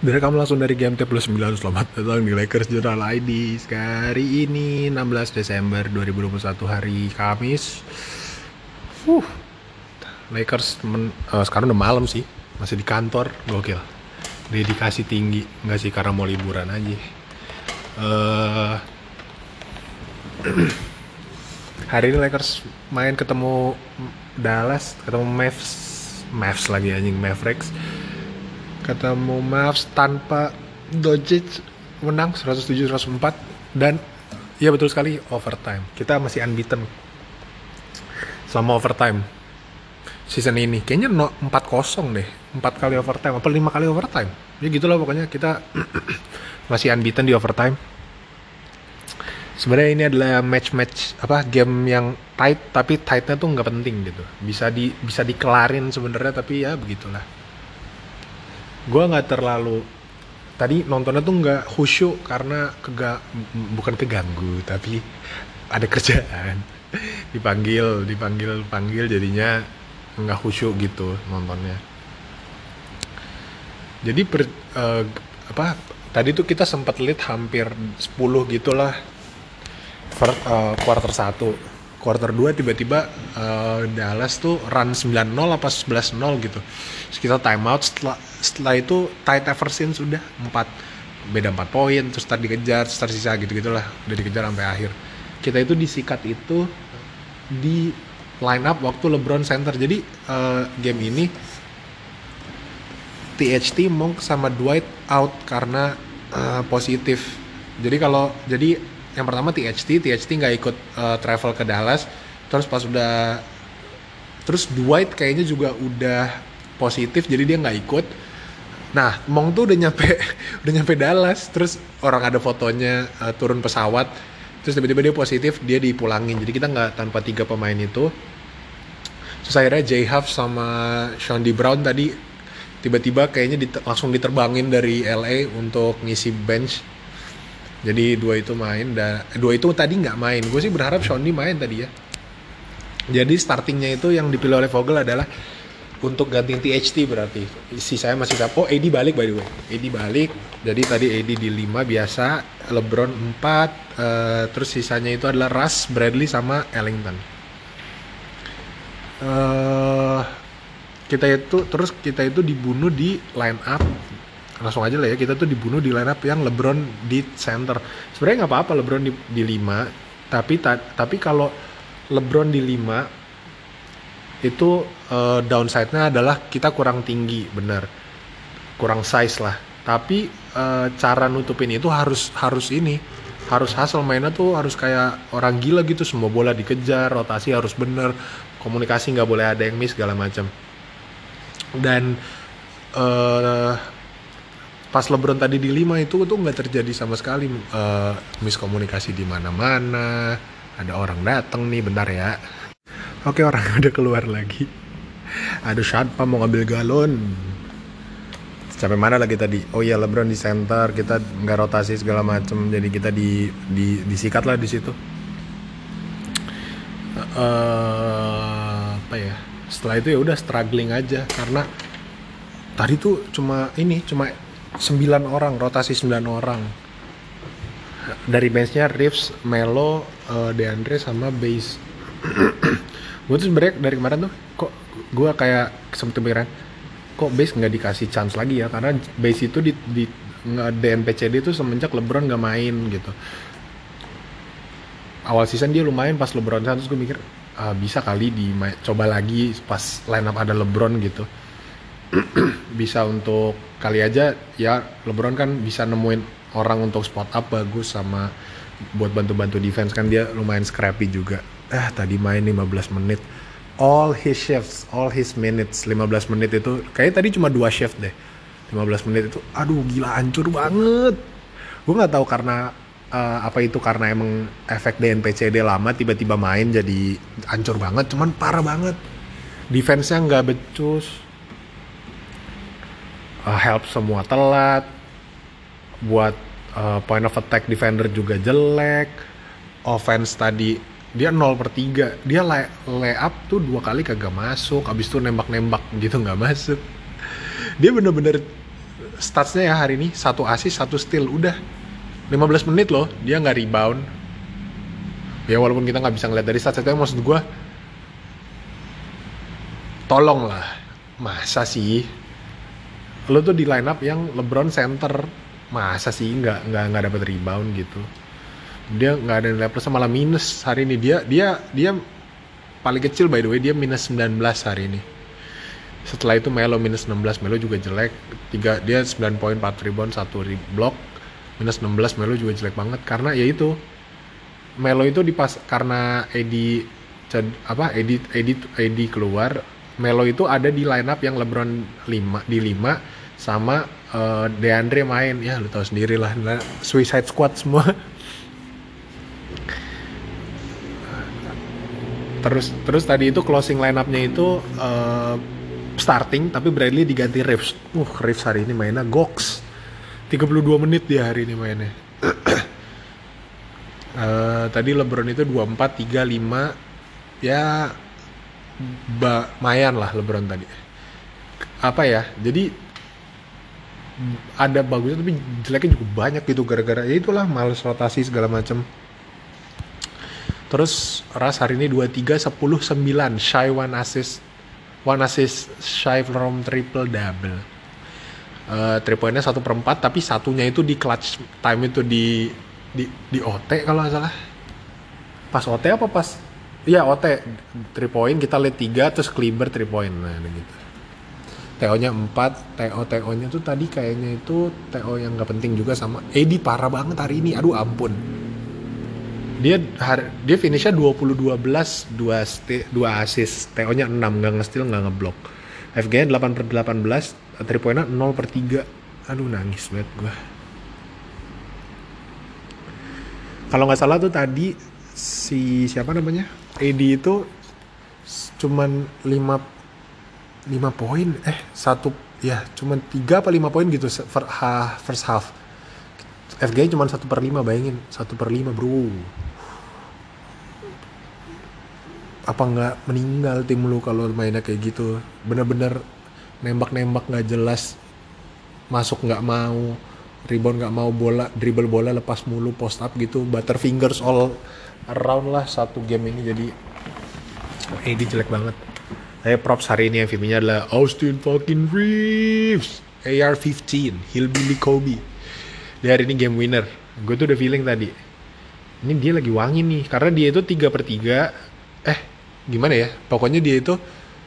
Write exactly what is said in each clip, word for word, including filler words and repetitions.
Direkam langsung dari G M T Plus sembilan. Selamat datang di Lakers Journal I D. Hari ini enam belas Desember dua ribu dua puluh satu, hari Kamis. uh, Lakers men, uh, sekarang udah malam sih. Masih di kantor, gokil. Dedikasi tinggi. Enggak sih, karena mau liburan aja. uh, Hari ini Lakers main ketemu Dallas, ketemu Mavs Mavs lagi anjing, Mavericks. Ketemu Mavs tanpa Doncic, menang seratus tujuh seratus empat. Dan ya betul sekali, overtime. Kita masih unbeaten selama overtime season ini. Kayaknya no, empat kosong deh, empat kali overtime apa lima kali overtime. Ya gitulah pokoknya, kita masih unbeaten di overtime. Sebenarnya ini adalah match-match apa game yang tight, tapi tightnya tuh nggak penting gitu. Bisa di bisa dikelarin sebenarnya, tapi ya begitulah. Gue nggak terlalu tadi nontonnya tuh nggak khusyuk karena kega bukan keganggu, tapi ada kerjaan. dipanggil dipanggil panggil jadinya nggak khusyuk gitu nontonnya. Jadi per, uh, apa tadi tuh kita sempat lead hampir sepuluh gitulah. Per, uh, quarter satu, quarter dua tiba-tiba uh, Dallas tuh run sembilan nol apa sebelas nol gitu. Terus kita time out, setelah, setelah itu tight ever since, sudah empat beda empat poin, terus start dikejar, start sisa gitu-gitulah, udah dikejar sampai akhir. Kita itu disikat itu di line up waktu LeBron center. Jadi uh, game ini T H T, Monk sama Dwight out karena uh, positif. Jadi kalau jadi yang pertama T H T, T H T nggak ikut uh, travel ke Dallas. Terus pas udah, terus Dwight kayaknya juga udah positif, jadi dia nggak ikut. Nah, Monk tuh udah nyampe, udah nyampe Dallas. Terus orang ada fotonya uh, turun pesawat. Terus tiba-tiba dia positif, dia dipulangin. Jadi kita nggak tanpa tiga pemain itu. Terus akhirnya J-Huff sama Sean D. Brown tadi tiba-tiba kayaknya dit- langsung diterbangin dari L A untuk ngisi bench. Jadi dua itu main, dan dua itu tadi nggak main. Gue sih berharap Sean D main tadi ya. Jadi startingnya itu yang dipilih oleh Vogel adalah untuk gantiin T H T berarti. Sisanya masih siapa? Oh, A D balik by the way. A D balik. Jadi tadi A D di lima biasa, LeBron empat, uh, terus sisanya itu adalah Russ, Bradley sama Ellington. Uh, kita itu terus kita itu dibunuh di line up. Langsung aja lah ya, kita tuh dibunuh di line up yang LeBron di center. Sebenarnya nggak apa-apa LeBron di, di lima, tapi ta, tapi kalau LeBron di lima itu uh, downside-nya adalah kita kurang tinggi, benar, kurang size lah. Tapi uh, cara nutupin itu harus harus ini, harus hustle, mainnya tuh harus kayak orang gila gitu, semua bola dikejar, rotasi harus bener, komunikasi nggak boleh ada yang miss segala macam. Dan uh, pas LeBron tadi di lima itu tuh nggak terjadi sama sekali uh, miskomunikasi di mana-mana. Ada orang datang nih, bentar ya. Oke, orang udah keluar lagi. Aduh, siapa mau ngambil galon? Sampai mana lagi tadi? Oh iya, LeBron di center, kita nggak rotasi segala macem, jadi kita di, di disikat lah di situ. Uh, apa ya? Setelah itu ya udah struggling aja, karena tadi tuh cuma ini, cuma sembilan orang, rotasi sembilan orang. Dari benchnya Reeves, Melo, uh, DeAndre sama Base. Gue tuh sebenernya dari kemarin tuh kok gue kayak sempet kepikiran, kok Base nggak dikasih chance lagi ya, karena Base itu di, di D N P C D tuh semenjak LeBron nggak main gitu. Awal season dia lumayan pas LeBron, terus gue mikir ah, bisa kali di coba lagi pas line up ada LeBron gitu. Bisa untuk kali aja ya, LeBron kan bisa nemuin orang untuk spot up bagus, sama buat bantu-bantu defense kan dia lumayan scrappy juga. Ah, tadi main lima belas menit, all his shifts, all his minutes, lima belas menit itu kayaknya tadi cuma dua shift deh. lima belas menit itu aduh gila, hancur banget. Gue nggak tahu karena uh, apa itu karena emang efek D N P C D lama tiba-tiba main jadi hancur banget, cuman parah banget. Defense-nya nggak becus. Uh, help semua telat, buat uh, point of attack defender juga jelek. Offense tadi dia nol per tiga, dia lay, lay up tuh dua kali kagak masuk, abis itu nembak-nembak gitu nggak masuk. Dia bener-bener statsnya ya hari ini satu assist satu steal udah lima belas menit loh dia nggak rebound. Ya walaupun kita nggak bisa ngeliat dari stats, tapi maksud gue tolong lah, masa sih lo tuh di line up yang LeBron center, masa sih nggak nggak nggak dapat rebound gitu. Dia nggak ada nilai plus, malah minus hari ini. Dia dia dia paling kecil by the way, dia minus sembilan belas hari ini. Setelah itu Melo minus enam belas, Melo juga jelek. Tiga, dia sembilan poin, empat rebound, satu block, minus enam belas. Melo juga jelek banget karena ya itu Melo itu dipas karena Edi apa Edi Edi Edi keluar. Melo itu ada di line up yang LeBron lima di lima sama uh, DeAndre main. Ya lu tahu sendiri lah, Suicide Squad semua. Terus terus tadi itu closing line up-nya itu uh, starting tapi Bradley diganti Reeves. Uh, Reeves hari ini mainnya goks. tiga puluh dua menit dia hari ini mainnya. uh, tadi LeBron itu dua puluh empat, tiga, lima. Ya ba- mayan lah LeBron tadi. Apa ya? Jadi ada bagusnya tapi jeleknya juga banyak gitu, gara-gara ya itulah males rotasi segala macam. Terus Russ hari ini dua puluh tiga, sepuluh, sembilan, shy one assist, one assist shy from triple double. Uh, three pointnya satu per empat, tapi satunya itu di clutch time itu di di di O T kalau nggak salah. Pas O T apa pas? Iya O T, three point kita lihat tiga, terus Kleber three point, nah gitu. T O-nya empat, T O T O-nya tuh tadi kayaknya itu T O yang nggak penting juga sama. Edi parah banget hari ini, aduh ampun. Dia hari, dia finishnya dua puluh dua belas, dua st- dua assist, T O-nya enam, nggak nge-steal, nggak nge-block. F G-nya delapan per delapan belas, three point-nya nol per tiga. Aduh nangis banget gue. Kalau nggak salah tuh tadi si siapa namanya? Edi itu cuman lima lima poin, eh satu ya cuman tiga apa lima poin gitu first half. F G-nya cuma satu per lima, bayangin, satu per lima bro. Apa nggak meninggal tim lu kalau mainnya kayak gitu? Bener-bener nembak-nembak nggak jelas, masuk nggak mau, rebound nggak mau, bola dribble bola lepas mulu, post up gitu, butterfingers all around lah satu game ini. Jadi ini jelek banget. Saya props hari ini M V P-nya adalah Austin fucking Reeves, A R fifteen, Hillbilly Kobe. Dia hari ini game winner. Gue tuh udah feeling tadi, ini dia lagi wangi nih, karena dia itu tiga per tiga. Eh gimana ya, pokoknya dia itu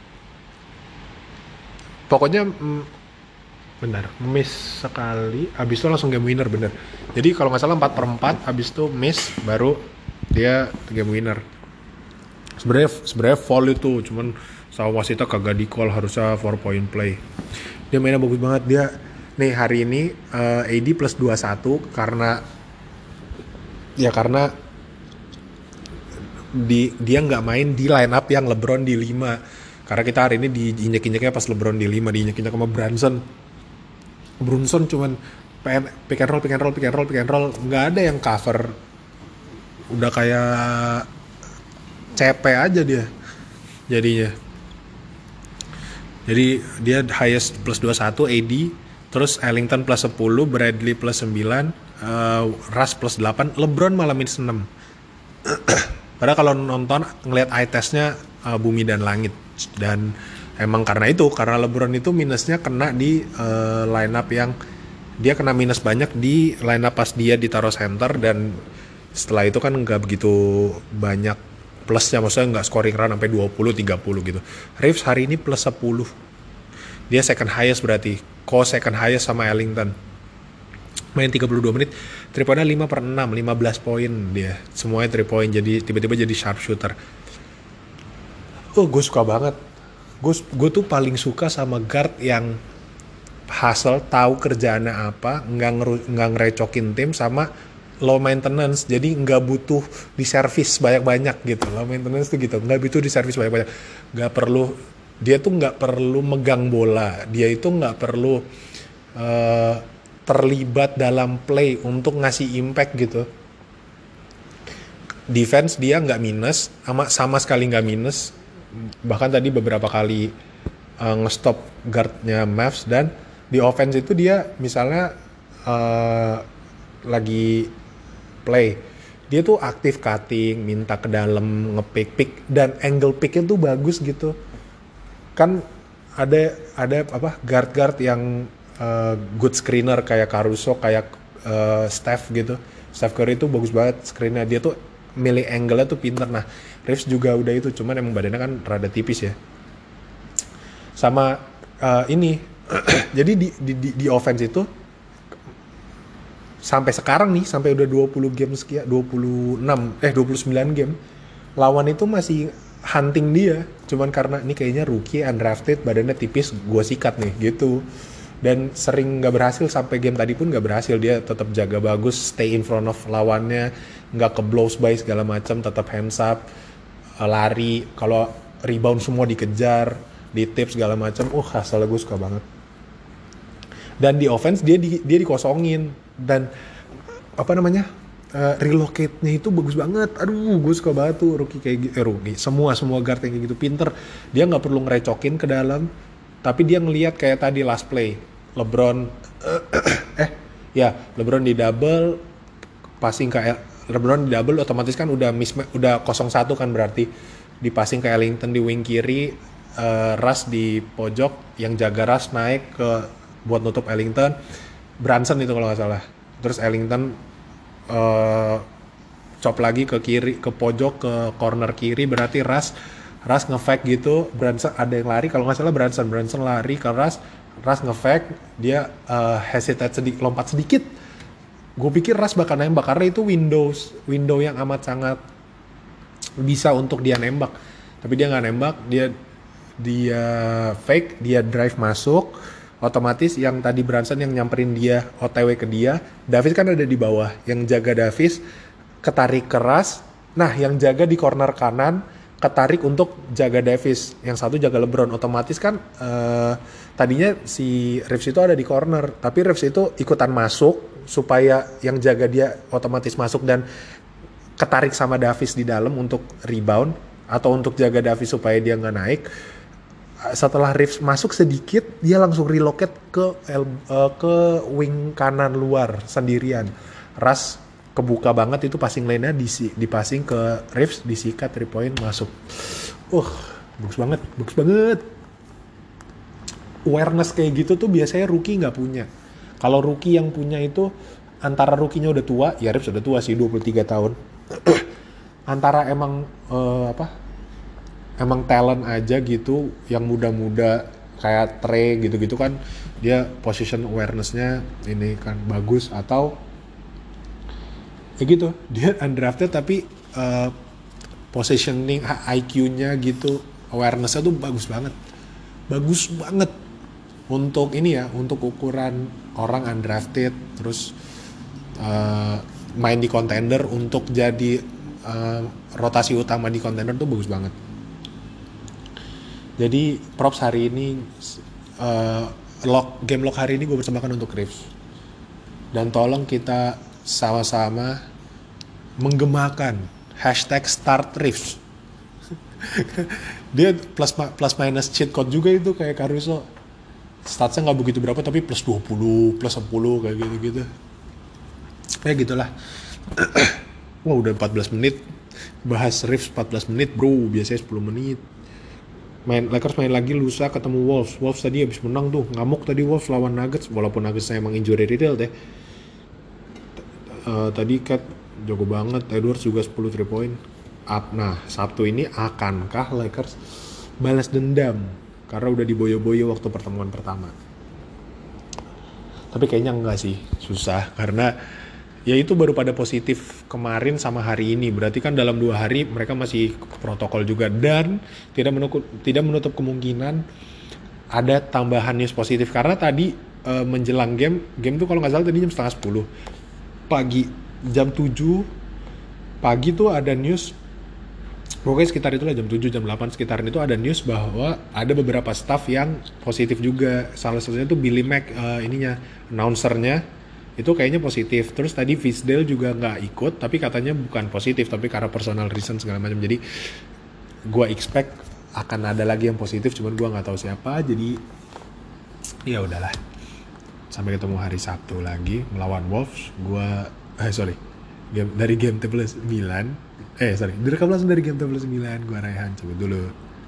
pokoknya mm, benar miss sekali, abis itu langsung game winner bener. Jadi kalau nggak salah empat per empat, abis itu miss baru dia game winner. Sebenarnya sebenarnya foul itu, cuman sama wasitnya kagak di call, harusnya four point play. Dia mainnya bagus banget. Dia nih hari ini uh, A D plus dua puluh satu karena ya karena di, dia nggak main di line up yang LeBron di lima. Karena kita hari ini diinjek-injeknya pas LeBron di lima, diinjek-injek sama Brunson. Brunson cuman pick and roll, pick and roll, pick and roll, pick and roll, nggak ada yang cover. Udah kayak C P aja dia jadinya. Jadi dia highest plus dua puluh satu A D, terus Ellington plus sepuluh, Bradley plus sembilan, uh, Russ plus delapan, LeBron malah minus enam. Padahal kalau nonton ngelihat eye testnya uh, bumi dan langit. Dan emang karena itu, karena LeBron itu minusnya kena di uh, line up yang dia kena minus banyak di line up pas dia ditaruh center, dan setelah itu kan nggak begitu banyak plusnya, maksudnya nggak scoring run sampai dua puluh tiga puluh gitu. Reeves hari ini plus sepuluh, dia second highest berarti, co-second highest sama Ellington. Main tiga puluh dua menit, three point-nya lima per enam, lima belas poin dia. Semuanya three point, jadi tiba-tiba jadi sharpshooter. Oh, gue suka banget. Gue gue tuh paling suka sama guard yang hustle, tahu kerjaannya apa, nggak ngeru, nggak ngerecokin tim, sama low maintenance. Jadi nggak butuh di service banyak-banyak gitu. Low maintenance tuh gitu, nggak butuh di service banyak-banyak. Nggak perlu, dia tuh nggak perlu megang bola. Dia itu nggak perlu uh, terlibat dalam play untuk ngasih impact gitu. Defense dia nggak minus, sama sama sekali nggak minus. Bahkan tadi beberapa kali uh, nge-stop guardnya Mavs, dan Di offense itu dia misalnya uh, lagi play, dia tuh aktif cutting, minta ke dalam, nge-pick, pick, dan angle picknya tuh bagus gitu. Kan ada ada apa guard-guard yang uh, good screener kayak Caruso, kayak uh, Steph gitu. Steph Curry itu bagus banget screennya, dia tuh milih angle-nya tuh pinter. Nah, Reeves juga udah itu, cuman emang badannya kan rada tipis ya. Sama uh, ini, jadi di, di, di, di offense itu sampai sekarang nih, sampai udah dua puluh game sekian, dua puluh enam eh dua puluh sembilan game, lawan itu masih hunting dia, cuman karena ini kayaknya rookie, undrafted, badannya tipis, gue sikat nih gitu. Dan sering nggak berhasil, sampai game tadi pun nggak berhasil, dia tetap jaga bagus, stay in front of lawannya, nggak ke blows by segala macam, tetap hands up, lari, kalau rebound semua dikejar, di tips segala macam. Uh hasilnya gue suka banget. Dan di offense dia di, dia dikosongin, dan apa namanya uh, relocate-nya itu bagus banget. Aduh, gue suka banget tuh rookie kayak gitu, eh, rookie semua semua guard yang kayak gitu pinter. Dia nggak perlu ngerecokin ke dalam, tapi dia ngelihat kayak tadi last play LeBron eh ya LeBron di double, passing ke LeBron di double, otomatis kan udah miss, udah nol satu kan, berarti di passing ke Ellington di wing kiri, uh, Russ di pojok, yang jaga Russ naik ke buat nutup Ellington, Brunson itu kalau nggak salah, terus Ellington uh, chop lagi ke kiri, ke pojok, ke corner kiri, berarti Russ Russ nge-fake gitu, Brunson ada yang lari, kalau nggak salah Brunson Brunson lari ke Russ, Russ nge-fake, dia uh, hesitate sedikit, lompat sedikit. Gue pikir Russ bakal nembak karena itu windows window yang amat sangat bisa untuk dia nembak, tapi dia nggak nembak, dia dia fake, dia drive masuk, otomatis yang tadi Brunson yang nyamperin dia O T W ke dia, Davis kan ada di bawah, yang jaga Davis ketarik keras, nah yang jaga di corner kanan ketarik untuk jaga Davis, yang satu jaga LeBron, otomatis kan uh, tadinya si Reeves itu ada di corner, tapi Reeves itu ikutan masuk supaya yang jaga dia otomatis masuk dan ketarik sama Davis di dalam untuk rebound atau untuk jaga Davis supaya dia nggak naik. Setelah Reeves masuk sedikit, dia langsung relocate ke uh, ke wing kanan luar sendirian. Russ kebuka banget itu passing lane-nya, dipassing ke Reeves, disikat, three point, masuk. Uh, bagus banget, bagus banget. Awareness kayak gitu tuh biasanya rookie nggak punya. Kalau rookie yang punya itu, antara rookie-nya udah tua, ya Reeves udah tua sih, dua puluh tiga tahun. Antara emang, uh, apa, emang talent aja gitu, yang muda-muda, kayak Trey gitu-gitu kan, dia position awareness-nya ini kan bagus, atau ya gitu, dia undrafted tapi uh, positioning I Q-nya gitu, awareness-nya tuh bagus banget, bagus banget untuk ini ya, untuk ukuran orang undrafted, terus uh, main di contender untuk jadi uh, rotasi utama di contender tuh bagus banget. Jadi props hari ini, uh, log, game log hari ini gue persembahkan untuk Reeves, dan tolong kita sama-sama menggemakan hashtag start Reeves. Dia plus plus minus cheat code juga itu kayak Caruso, statsnya nggak begitu berapa tapi plus dua puluh, plus sepuluh kayak gitu-gitu. Ya gitulah. Wah udah empat belas menit bahas Reeves, empat belas menit bro, biasanya sepuluh menit. Main Lakers main lagi lusa ketemu Wolves. Wolves tadi habis menang tuh, ngamuk tadi Wolves lawan Nuggets, walaupun Nuggets emang injury riddled ya. Uh, tadi Cat jago banget, Edwards juga sepuluh three point up. Nah Sabtu ini akankah Lakers balas dendam karena udah diboyo-boyo waktu pertemuan pertama? Tapi kayaknya enggak sih, susah, karena ya itu baru pada positif kemarin sama hari ini, berarti kan dalam dua hari mereka masih protokol juga, dan tidak menutup, tidak menutup kemungkinan ada tambahan news positif, karena tadi uh, menjelang game, game tuh kalau nggak salah tadi jam setengah sepuluh pagi, jam tujuh pagi tuh ada news, pokoknya sekitar itulah jam tujuh, jam delapan sekitaran itu ada news bahwa ada beberapa staff yang positif juga. Salah satunya tuh Billy Mack, uh, ininya, announcernya itu kayaknya positif. Terus tadi Fisdale juga nggak ikut, tapi katanya bukan positif, tapi karena personal reason segala macam. Jadi gue expect akan ada lagi yang positif, cuman gue nggak tahu siapa. Jadi ya udahlah. Sampai ketemu hari Sabtu lagi melawan Wolves. Gua eh sorry. Game, dari game table sembilan. Eh sorry, direkam langsung dari game table sembilan. Gua Raihan cabut dulu.